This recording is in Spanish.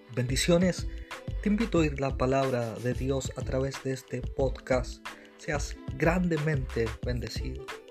Bendiciones, te invito a oír la palabra de Dios a través de este podcast. Seas grandemente bendecido.